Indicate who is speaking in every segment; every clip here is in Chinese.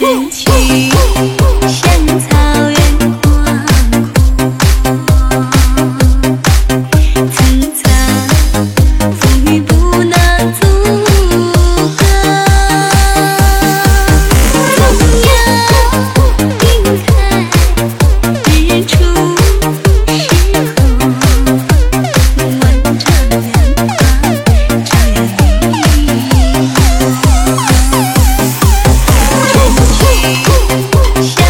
Speaker 1: 像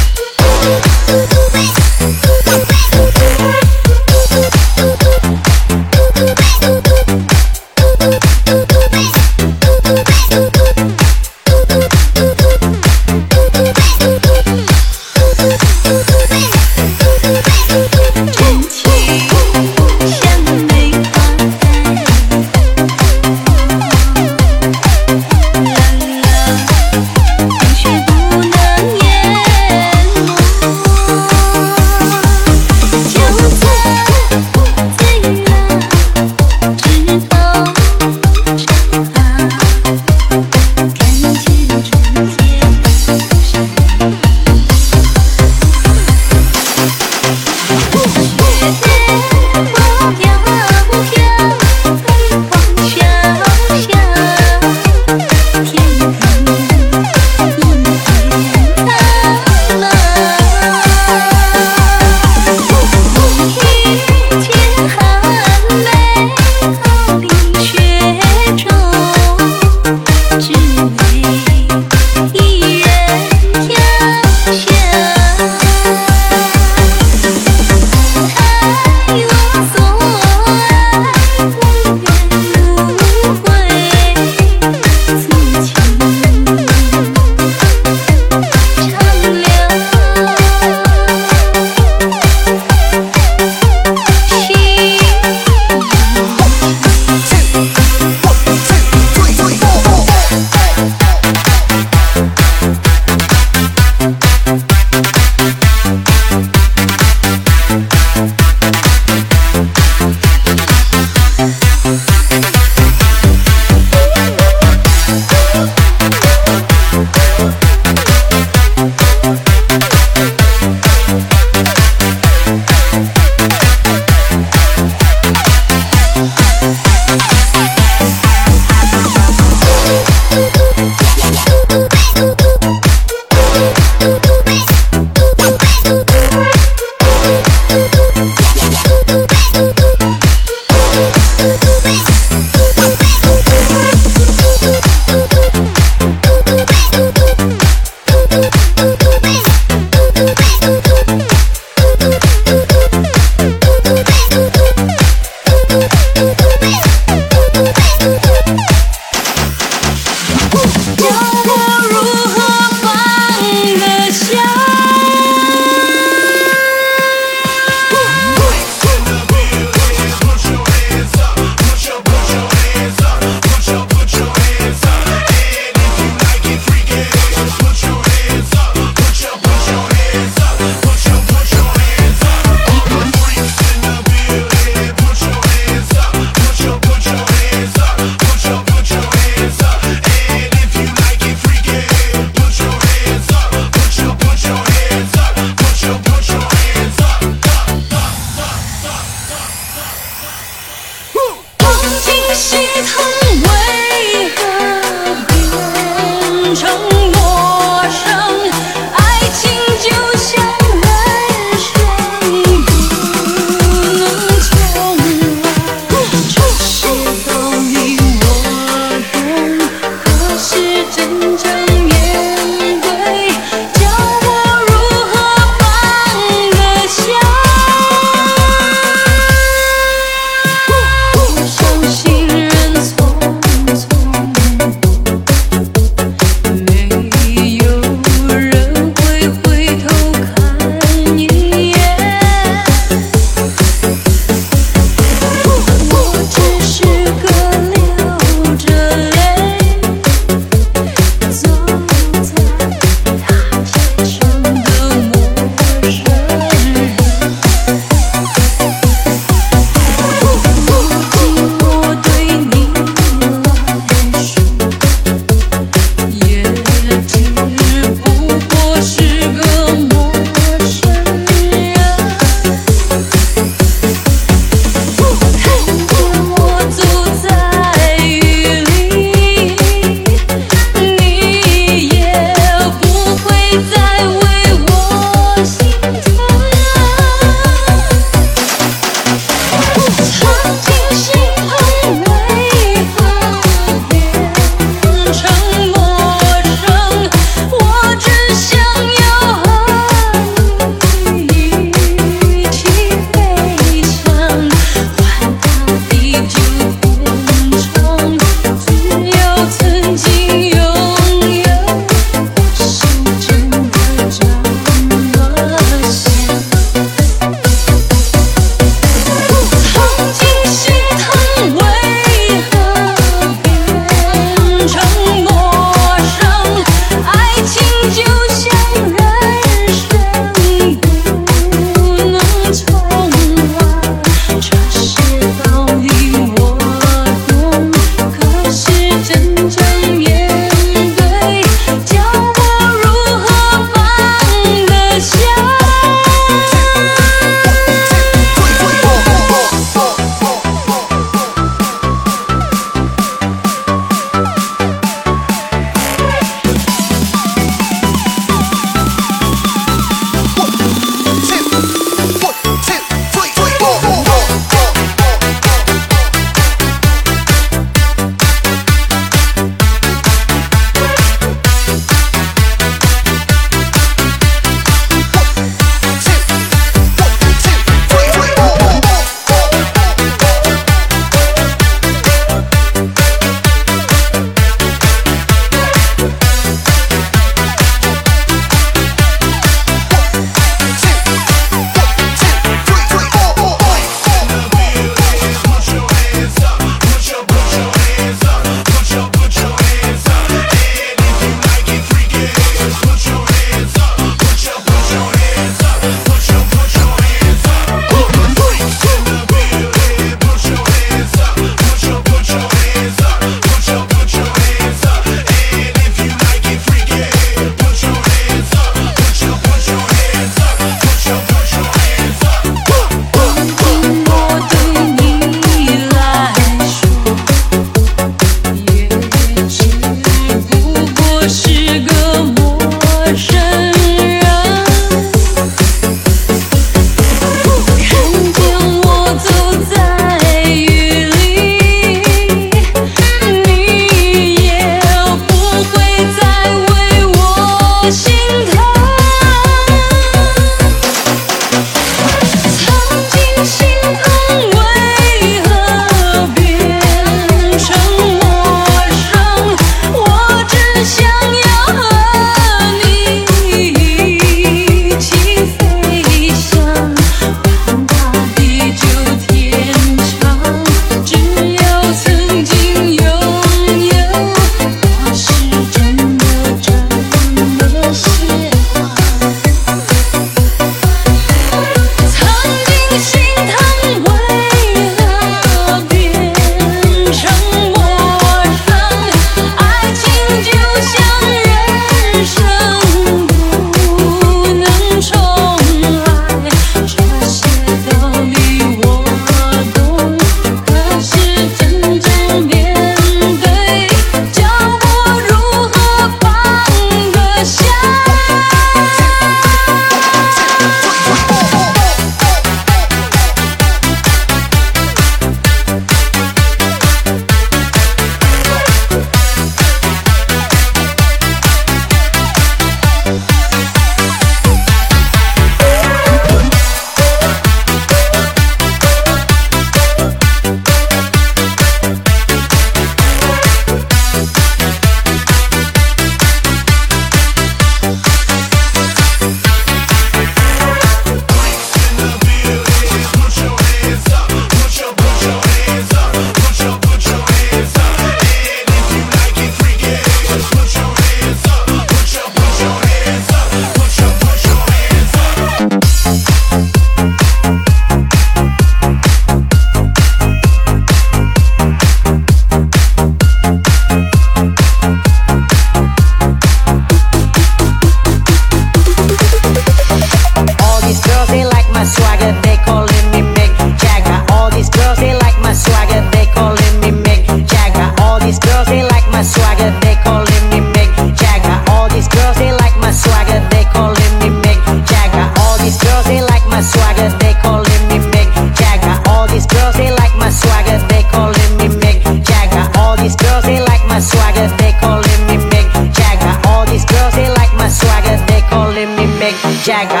Speaker 1: Jagger。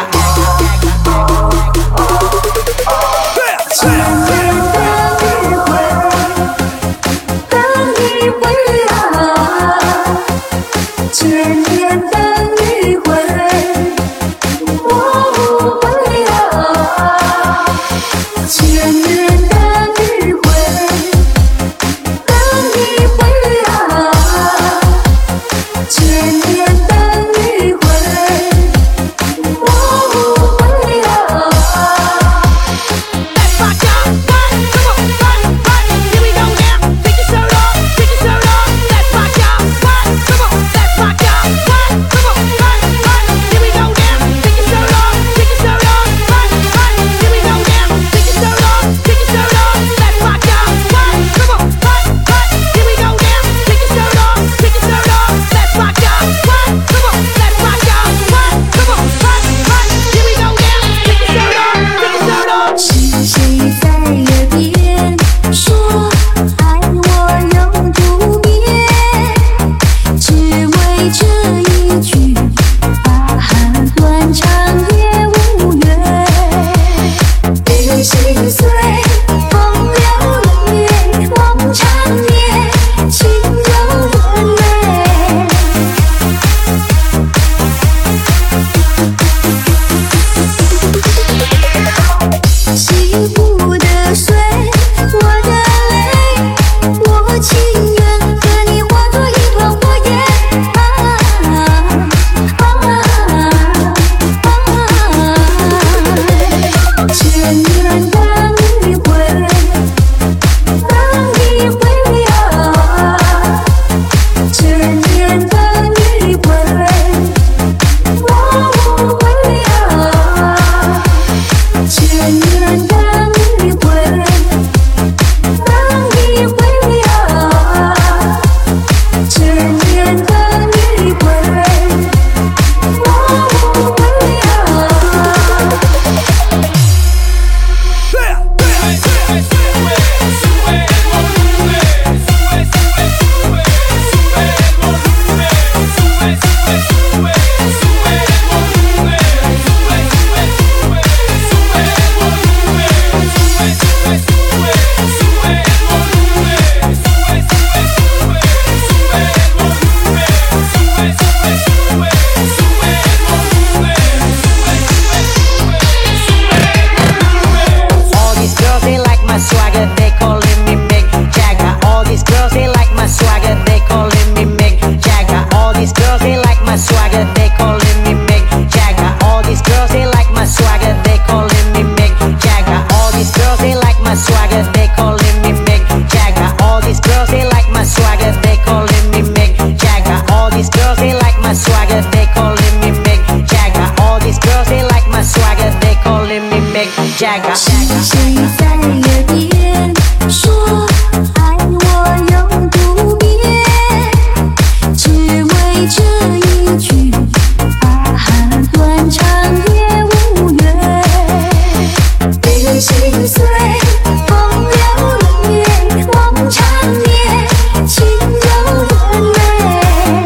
Speaker 2: 千年的余晖，等你回来。千年的余晖，我不会来。千年的余晖，等你回来。千年的余晖，我不会来。
Speaker 1: Jagger。
Speaker 2: 是谁在耳边说爱我永不变？只为这一句啊，断肠也无怨。悲人心碎，风流冷月，梦缠绵，情有人泪。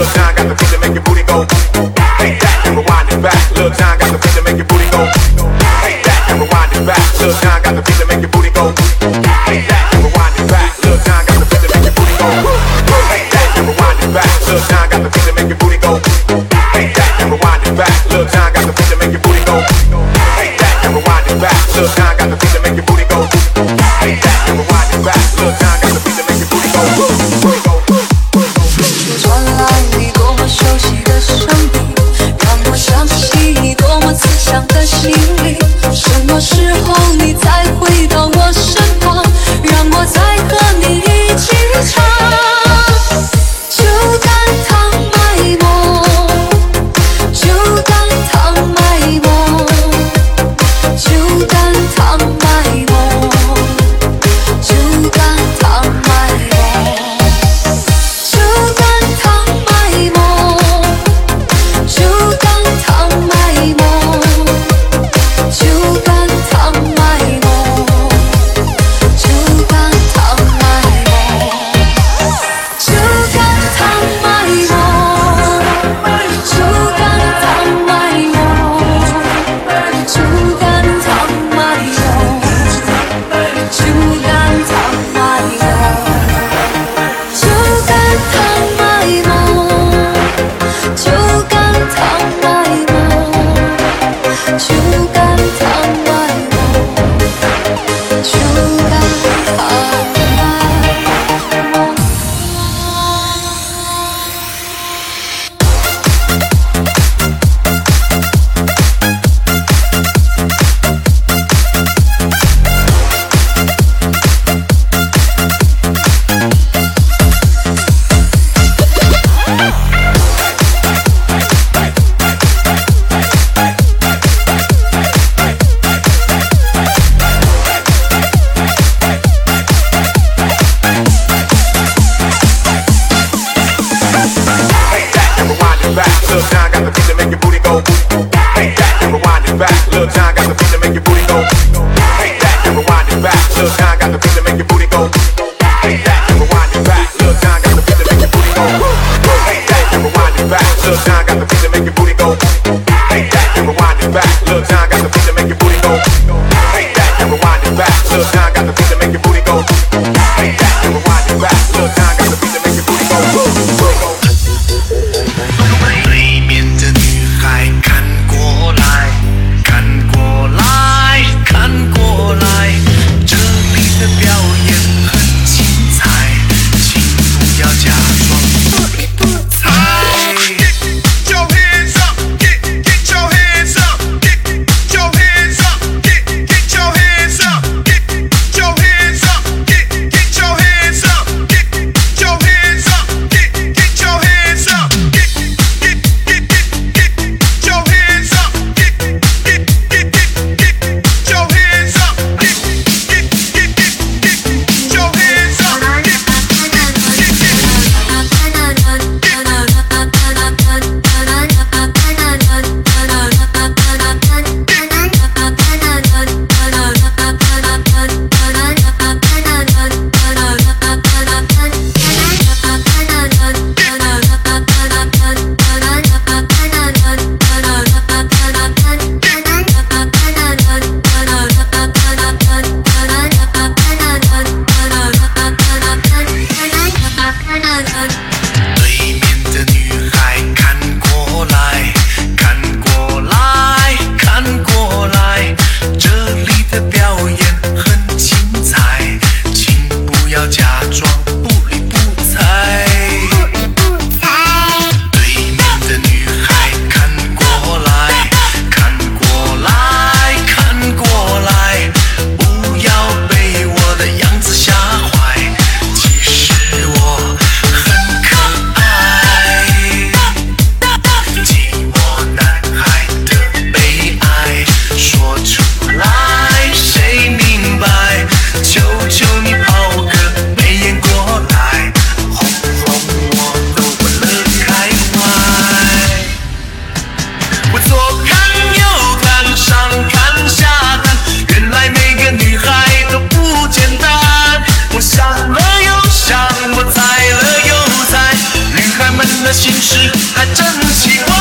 Speaker 1: Little time got the feeling make your booty go. Take that and rewind it back. Little time got the feeling make your booty go. Take that and rewind it back. Little time got the feeling make your booty go. Take that and rewind it back. Little time got the feeling make your booty go. Take that and rewind it back. Little time got the feeling make your booty go. Take that and rewind it back. Little time got the feeling make your booty go. Take that and rewind it back. Little time got the feeling make your booty go. Take that and rewind it back. Little time got the feeling make your booty go.
Speaker 2: 传来你多么熟悉的声音，让我想起你多么慈祥的心灵。什么时候你才回到我身旁，让我再和你一起唱？就当糖卖我，就当糖卖我，就当糖卖我，就当糖卖我。就当糖卖我，就当糖卖我，就当糖卖我，就当糖卖我，就当糖卖我，就当糖卖我，就当糖卖我，就当糖卖我。就当糖卖我，就当糖卖我，就当糖卖我，就当糖卖我。
Speaker 1: Little time got the feeling make your booty go. Take that and rewind it back. Little time got the feeling make your booty go. Take that and rewind it back. Little time got the feeling make your booty go. Take that and rewind it back. Little time got the feeling make your booty go. Take that and rewind it back. Little time got the feeling make your booty go. Take that and rewind it back. Little time got the feeling make your booty go. Take that and rewind it back. Little time got the feeling make your booty go. Take that and rewind it back. Little time got the feeling make your booty go.
Speaker 3: 对面的女孩看过来，看过来，看过来，这里的表演很精彩，请不要假装不理不睬。Get your hands up, get your hands up, get your hands up, get your hands up, get your hands up, get your hands up, get your hands up, get your hands up, 心事还真奇怪。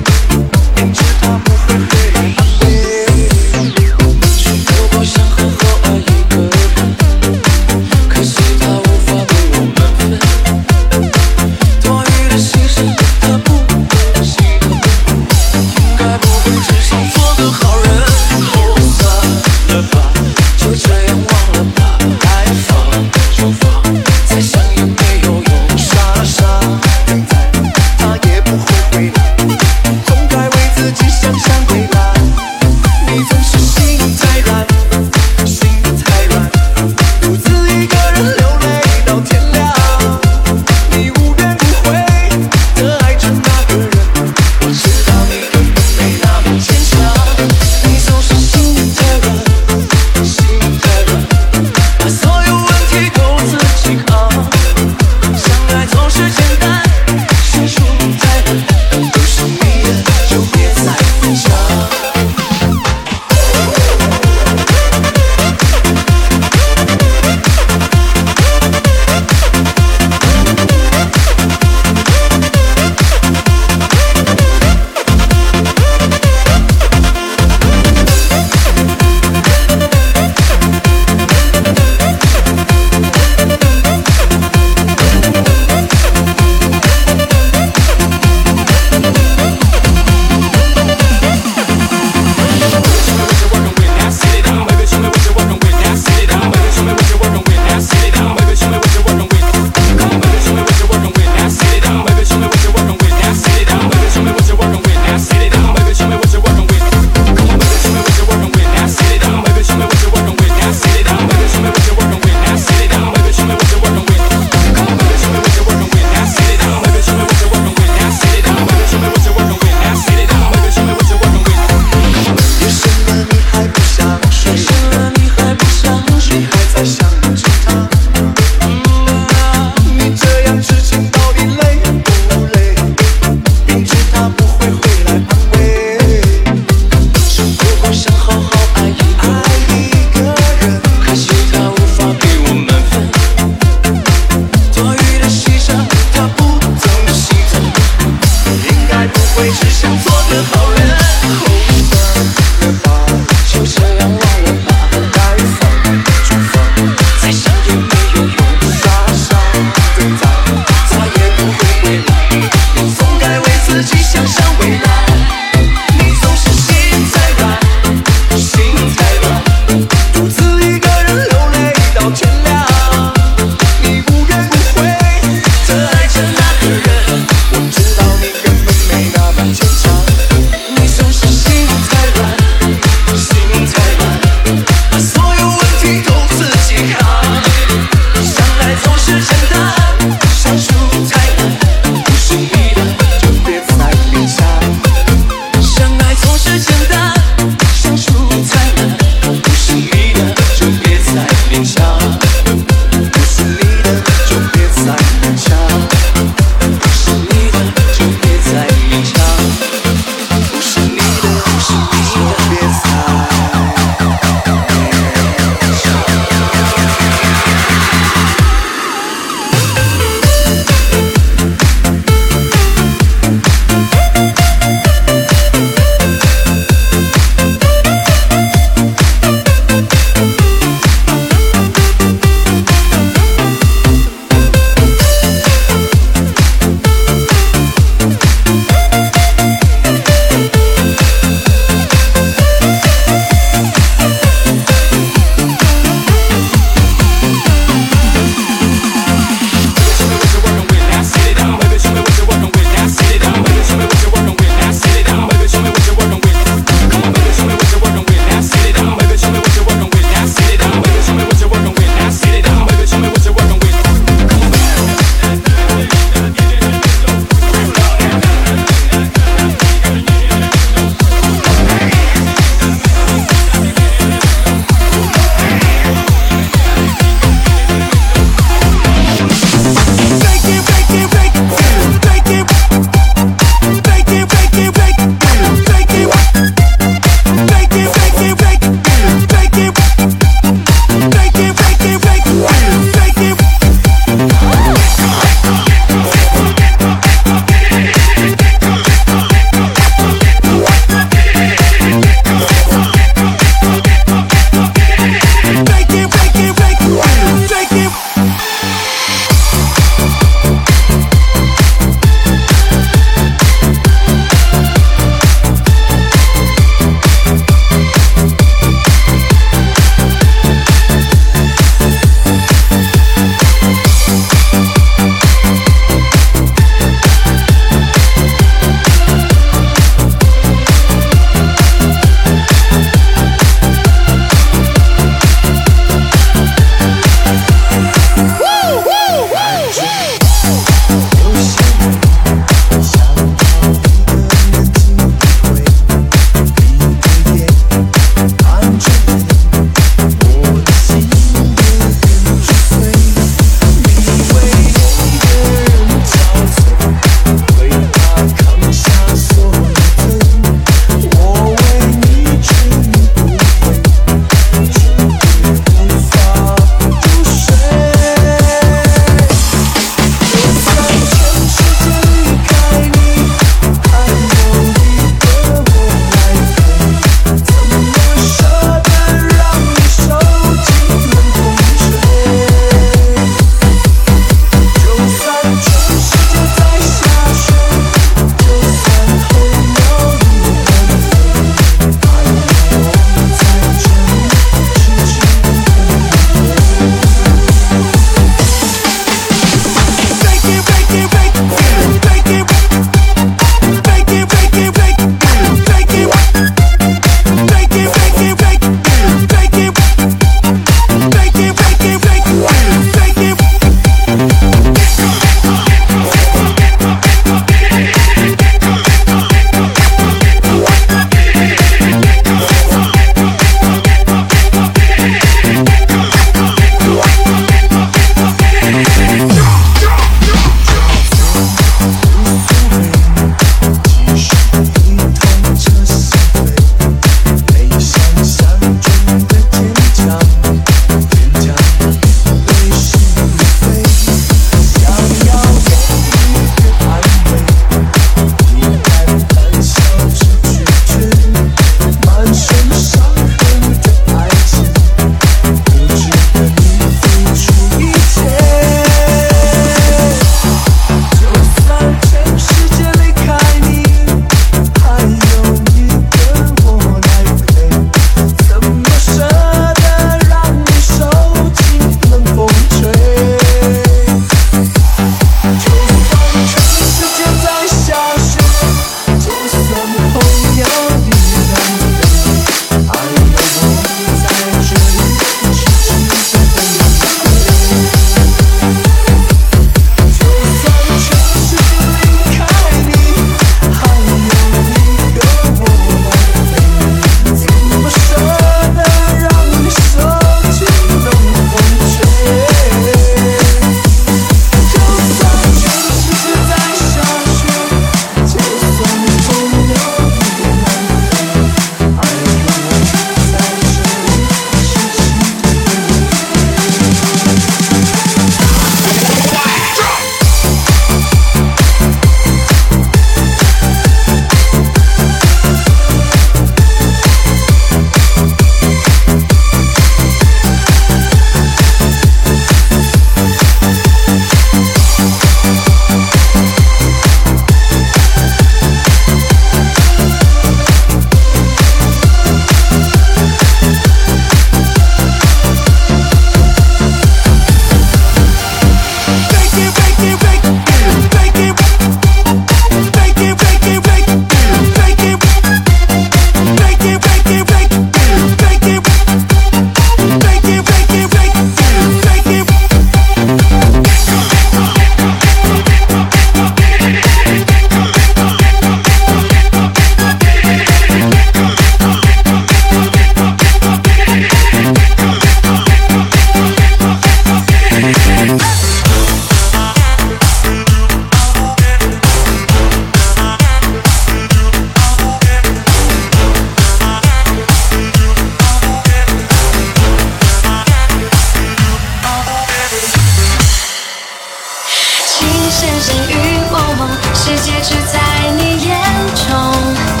Speaker 2: 深深雨蒙蒙，世界只在你眼中。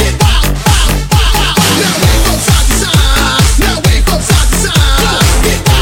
Speaker 3: Get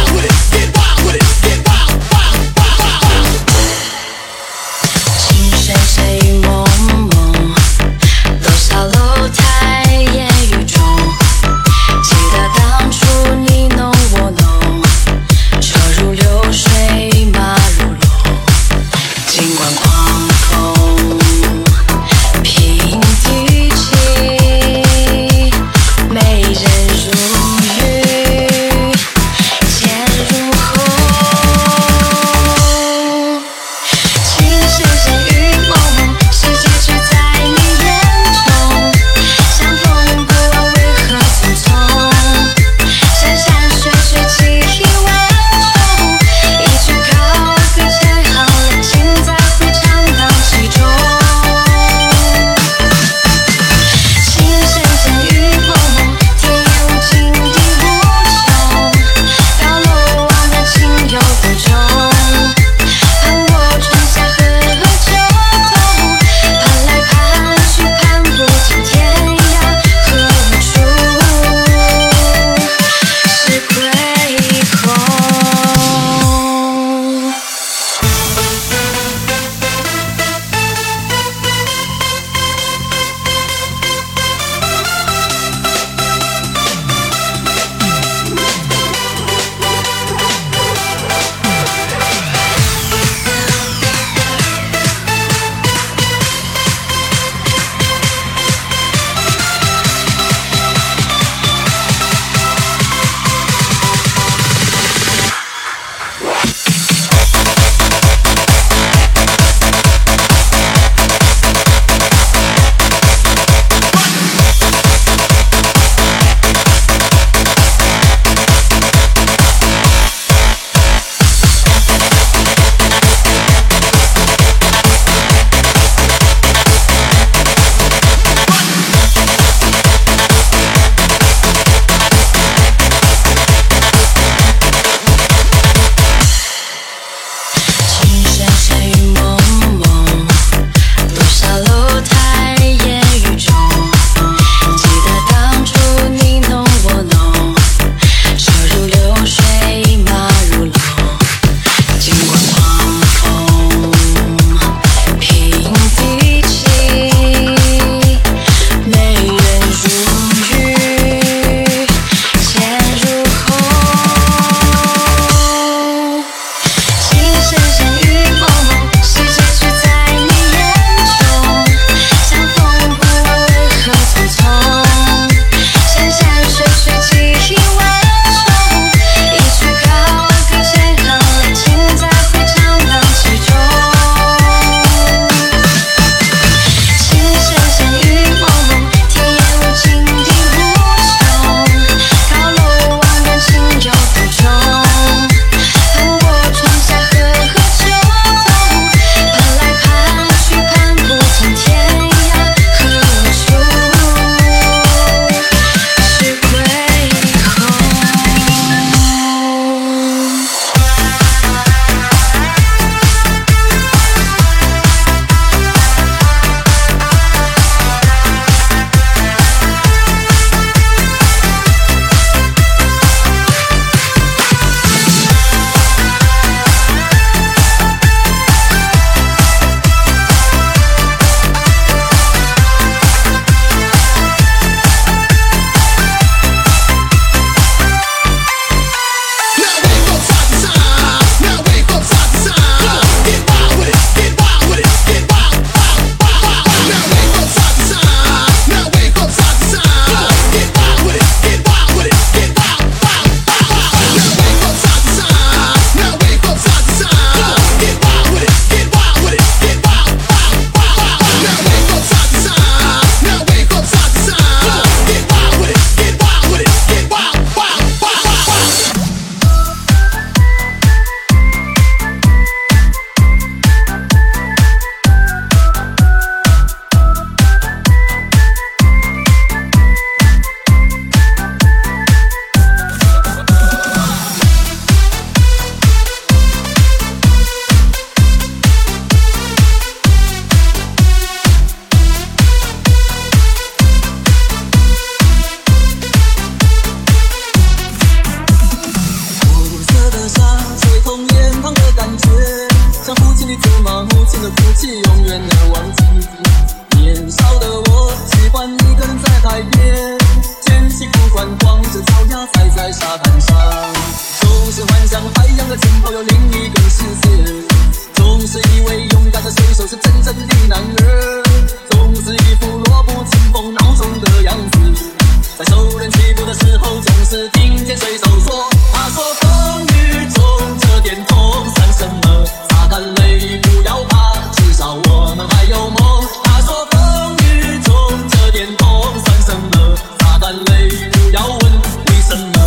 Speaker 4: 着脚丫踩在沙滩上，总是幻想海洋的尽头有另一个世界，总是以为勇敢的水手是真正的男儿，总是一副弱不禁风孬种的样子，在受人欺负的时候总是听见水手说，他说风雨中这点痛算什么，擦干泪不要怕，至少我们还有梦，他说风雨中这点痛算什么，擦干泪不要问为什么。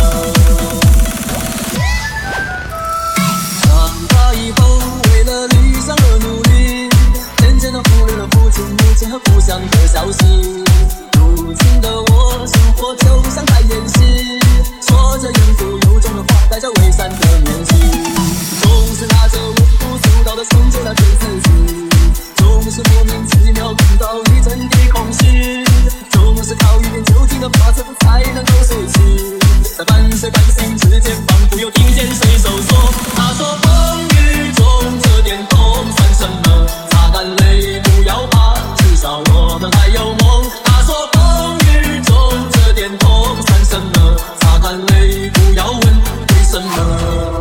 Speaker 4: 长大以后为了理想而努力，渐渐地忽略了父亲母亲和故乡的消息，如今的我生活就像在演戏，说着言不由衷的话，带着伪善的面具，总是拿着微不足道的成就来对自己，总是莫名其妙感到一阵的空虚，总是靠一点酒精的法子才能够睡去，在半睡半醒之间仿佛又听见水手说，他说风雨中这点痛算什么，擦干泪不要怕，至少我们还有梦，他说风雨中这点痛算什么，擦干泪不要问为什么。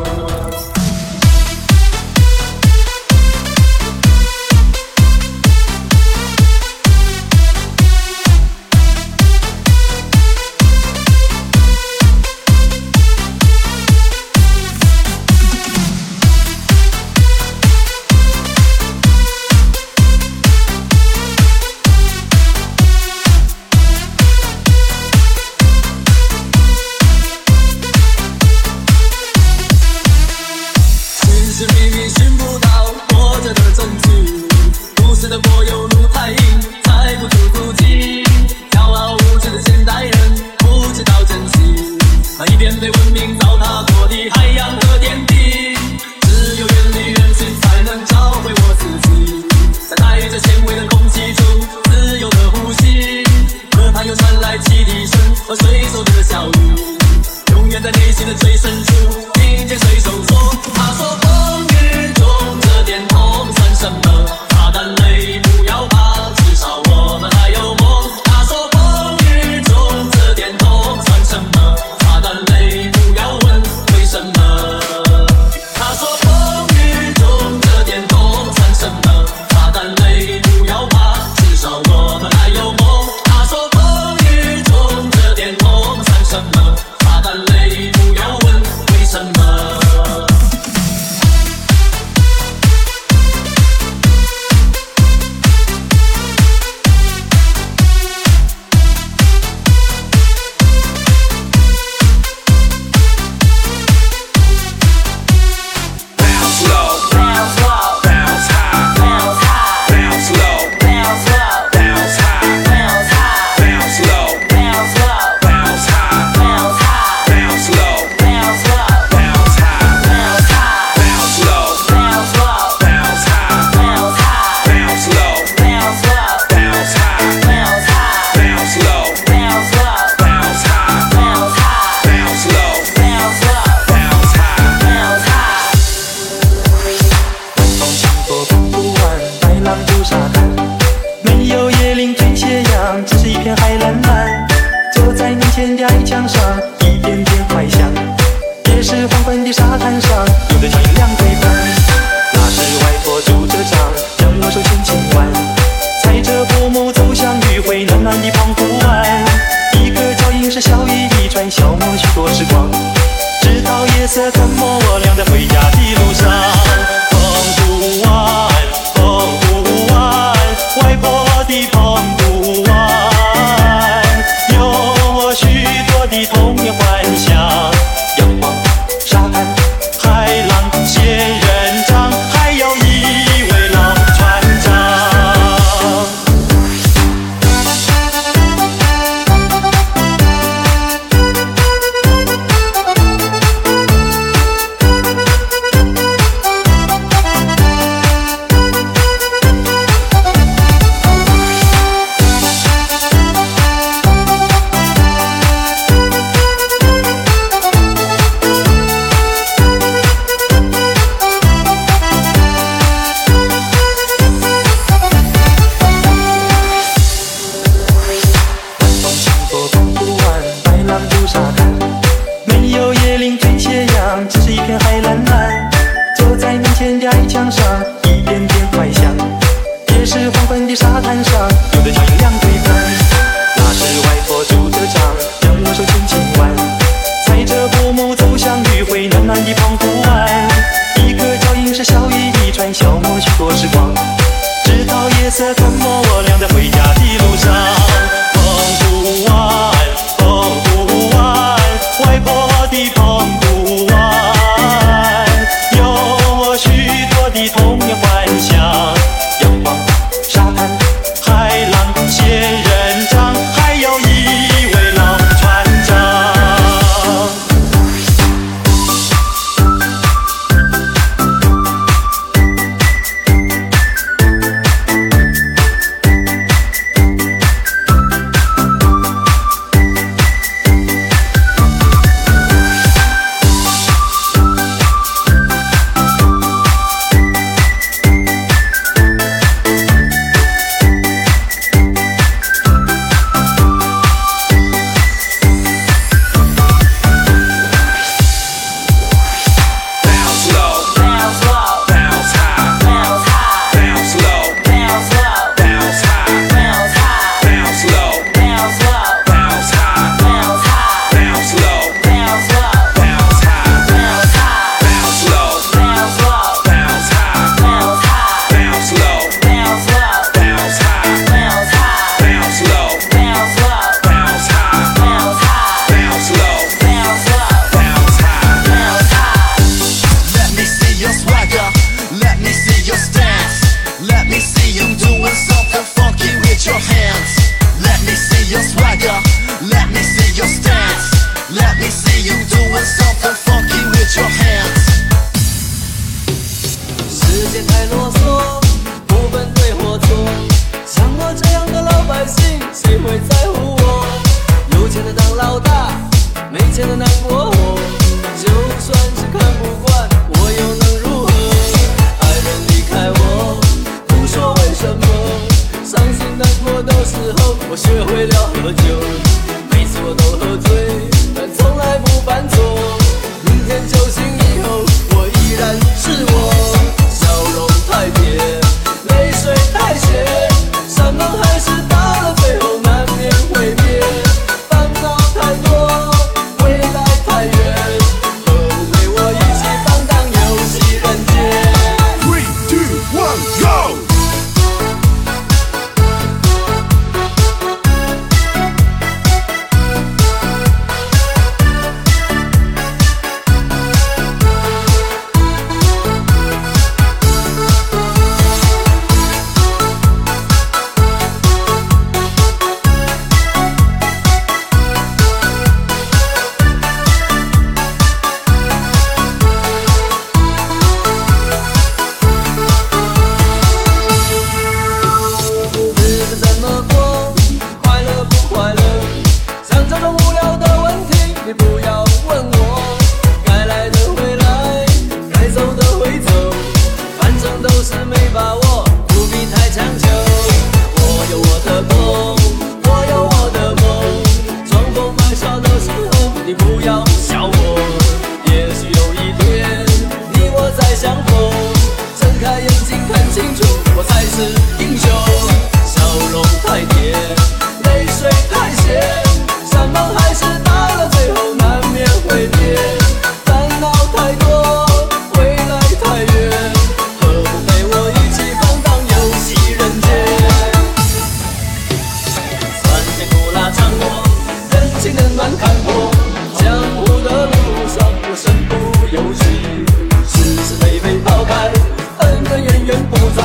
Speaker 5: 有椰林追斜阳，只是一片海蓝蓝。坐在面前的矮墙上，一点点怀想。也是黄昏的沙滩上，有的脚印两对半。那是外婆拄着杖，将我手轻轻挽，踩着薄暮走向余晖暖暖的澎湖湾。一个脚印是笑语一串，消磨许多时光，直到夜色吞没我俩在回家的路上。澎湖湾，澎湖湾，外婆的澎湖湾，有我许多的童年幻想。阳光、沙滩、海浪、仙人掌，还有一位老船长。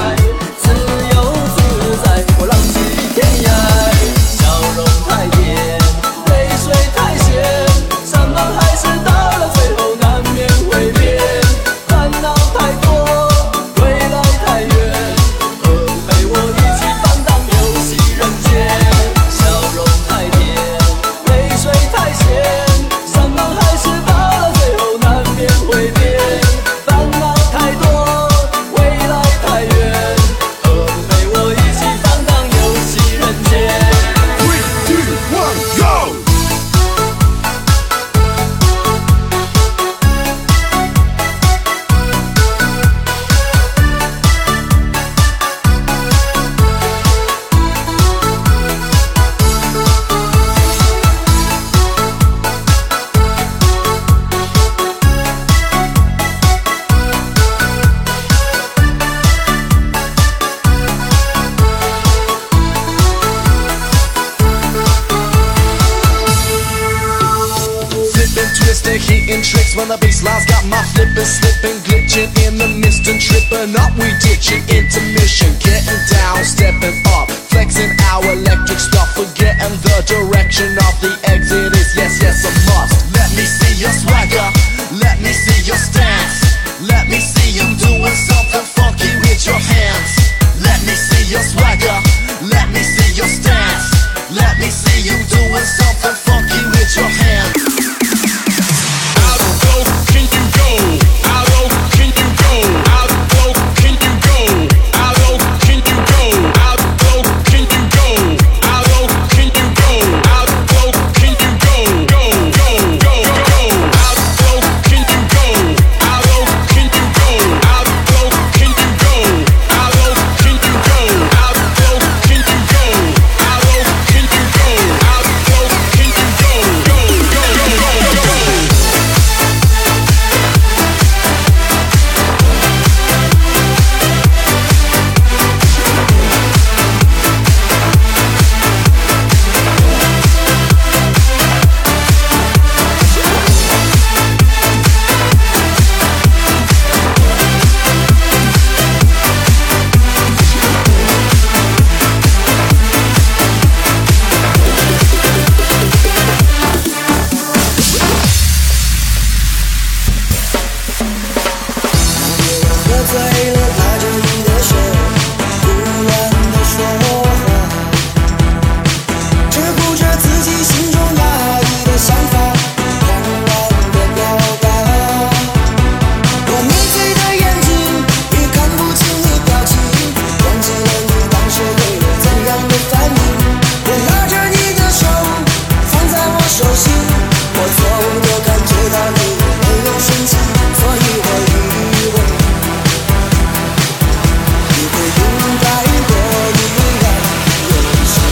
Speaker 4: 自由自在，我浪迹天涯，笑容太甜。
Speaker 3: they're hitting tricks when the bassline's got my flipping, slipping, glitching in the mist and tripping up. We ditching intermission, getting down, stepping up, flexing our electric stuff, forgetting the direction of the exit is yes, yes, a must. Let me see your swagger, let me see your stance, let me see you doing something funky with your hands. Let me see your swagger, let me see your stance, let me see you doing something funky with your hands.
Speaker 1: How low can you go? How low can you go? How low can you go? How low can you go? How low can you go? How low can you go? How low can you go? Go, go, go, go. How low can you go? How low can you go? How low can you go? How low can you go? How low can you go? How low can you go? How low can you go? Go, go, go, go.
Speaker 4: 喝醉了，拉着你的手，胡乱地说话，只顾着自己心中压抑的想法，狂乱地表达。我迷醉的眼睛，也看不清你表情，忘记了你当时给我怎样的反应。我拉着你的手，放在我手心，我错误地感觉到你没有生气，所以我以为。应该过一样人生，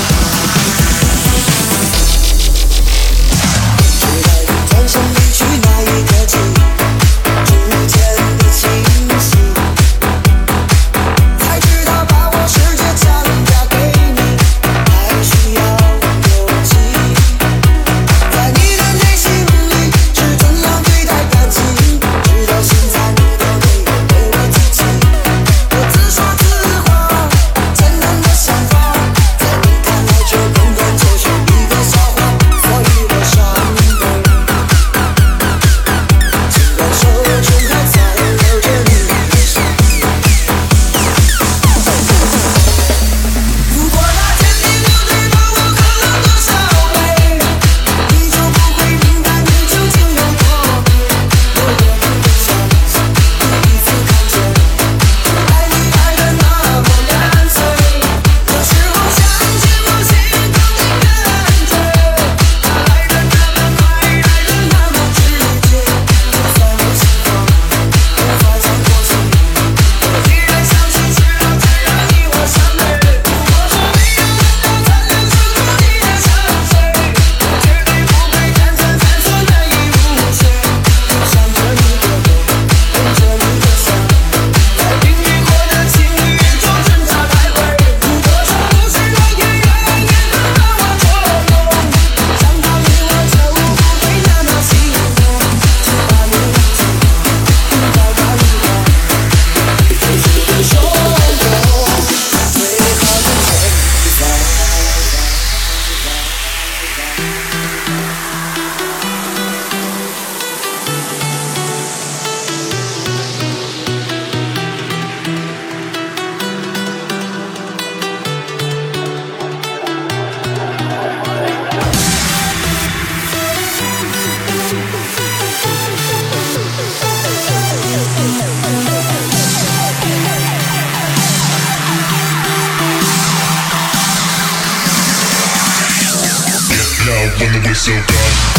Speaker 4: 直到你转身离去那一刻起，逐渐的清晰，才知道把我世界强加给你，还需要勇气。在你的内心里是怎样对待感情，直到现在你都没有对我提起。我自说自话，简单的想法，在你看来却根本就是一个笑话，所以我伤悲。尽管手中还残留着你的伤。如果那天你不知道我喝了多少杯，你就不会明白你究竟有多美。我也不相信第一次看见。爱你爱得那么干脆，有时候想起我心疼你的感觉，爱得那么快，爱得那么直接，就算我心慌，无法将过去，我依然相信只要再让你我相对。如果说没有能够残留住你的香水，我绝对不会单纯犯错难以无缺，就想着你的美，闻着你的香，在冰与火的情侣中挣扎徘徊。如果说不是老天爷也能让我捉弄，想到你我就不会那么心动，就把你忘记，应该把你忘，就是分手后最好的惩罚。
Speaker 6: Loud when the whistle goes.